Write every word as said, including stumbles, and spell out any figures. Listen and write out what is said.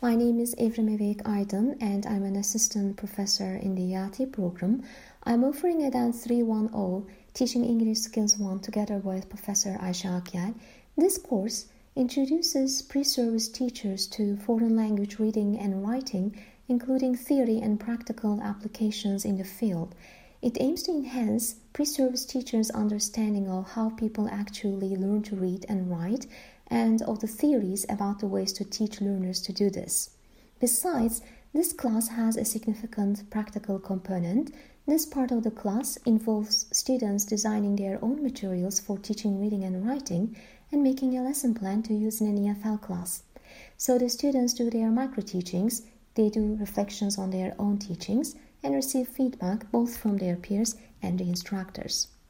My name is Evrim Evek Aydın and I'm an assistant professor in the Yati program. I'm offering a Dance three ten, Teaching English Skills one together with Professor Ayşe Akyel. This course introduces pre-service teachers to foreign language reading and writing, including theory and practical applications in the field. It aims to enhance pre-service teachers' understanding of how people actually learn to read and write, and of the theories about the ways to teach learners to do this. Besides, this class has a significant practical component. This part of the class involves students designing their own materials for teaching reading and writing and making a lesson plan to use in an E F L class. So the students do their micro-teachings, they do reflections on their own teachings, and receive feedback both from their peers and the instructors.